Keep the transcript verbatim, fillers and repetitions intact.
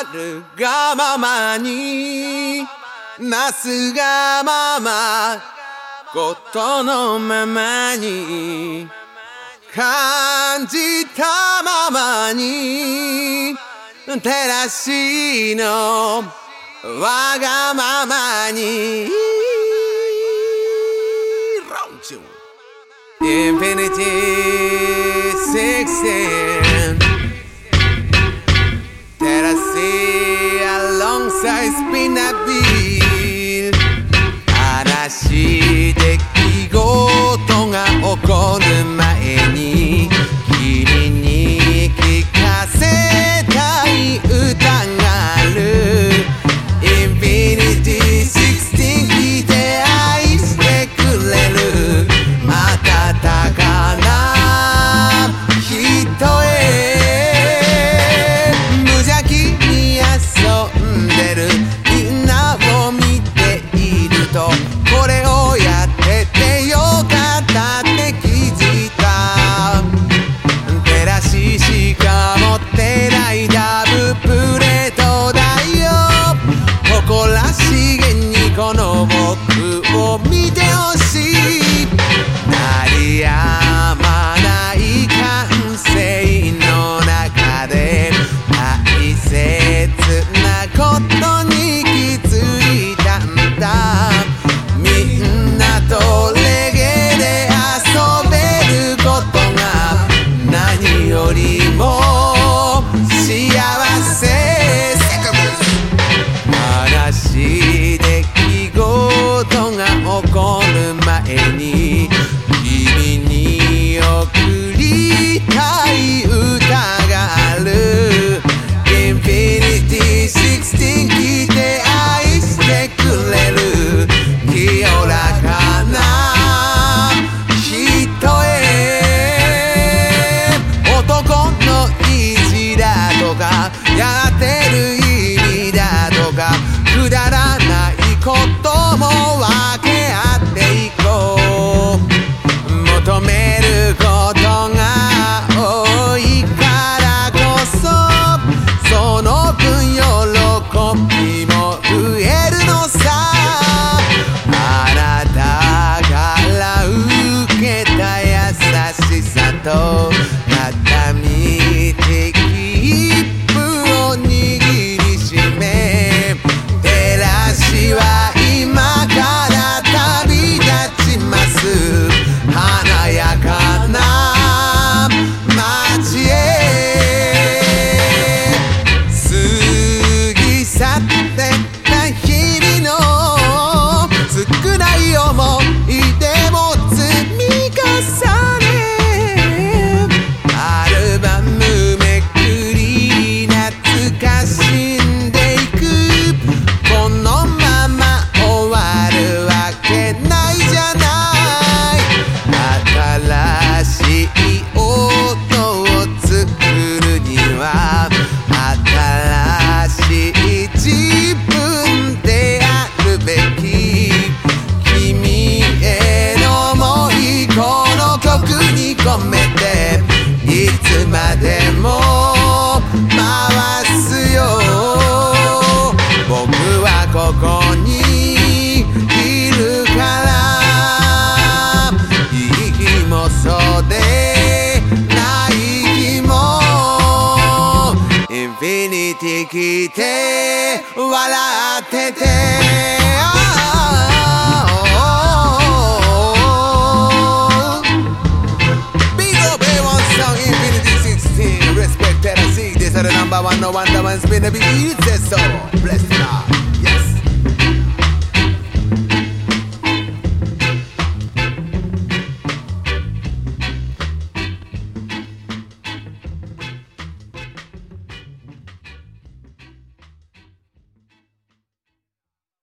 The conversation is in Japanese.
るがままになすがままことのままに感じたままに照らしのわがままにInfinity sixteen that I see alongside spin that wheel 話出来事が起こる前に君に聞かせたい歌がある Infinity sixteen 聞いて愛してくれる温かな人へ無邪気に遊んでるみんなを見ているとこれをやっててよかったって気づいた照らししか持ってないダブプレートだよ誇らしげにこの僕を見てほしい鳴りやまない感性の中で大切なことに気づいたんだみんなとレゲエで遊べることが何よりも幸せ話出来事が起こる前に君に送りたい歌がある Infinity sixteen 聞いて愛してくれる清らかな人へ男の意地だとかやってる意味だとかくだらないことも分け合っていこう求めることが多いからこそその分喜びも増えるのさあなたから受けた優しさと片道切符を握りしめ照らしは今から旅立ちます華やかな街へ過ぎ去ってた日々の少ない思い出も積み重ねアルバムめくり懐かしんでいくこのまま終わるわけないじゃない新しい音を作るには新しい自分であるべき君への想いこの曲に込めていつまでも回すよ僕はここにいるからいい日もそうでない日もインフィニティ来て笑っててBig up A one song Infinity sixteen Respect that I see This are the number one no wonder one's been a beat it says so